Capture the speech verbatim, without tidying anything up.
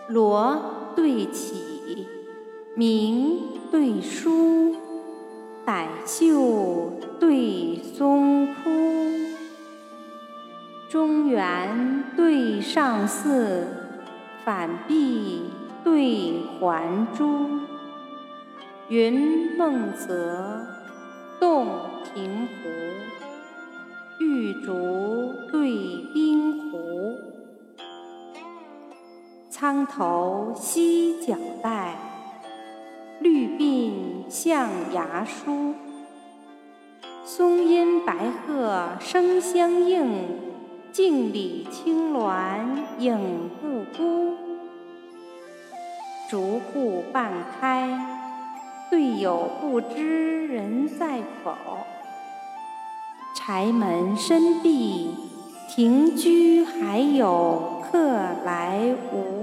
罗对绮，明对疏，傣秀对松枯。中原对上巳，反壁对环珠。云梦泽，洞庭湖，玉竹对冰湖。苍头犀角带，绿鬓象牙梳。松阴白鹤声相应，镜里青鸾影不孤。竹户半开，对友不知人在否。柴门深闭，庭居还有客来无。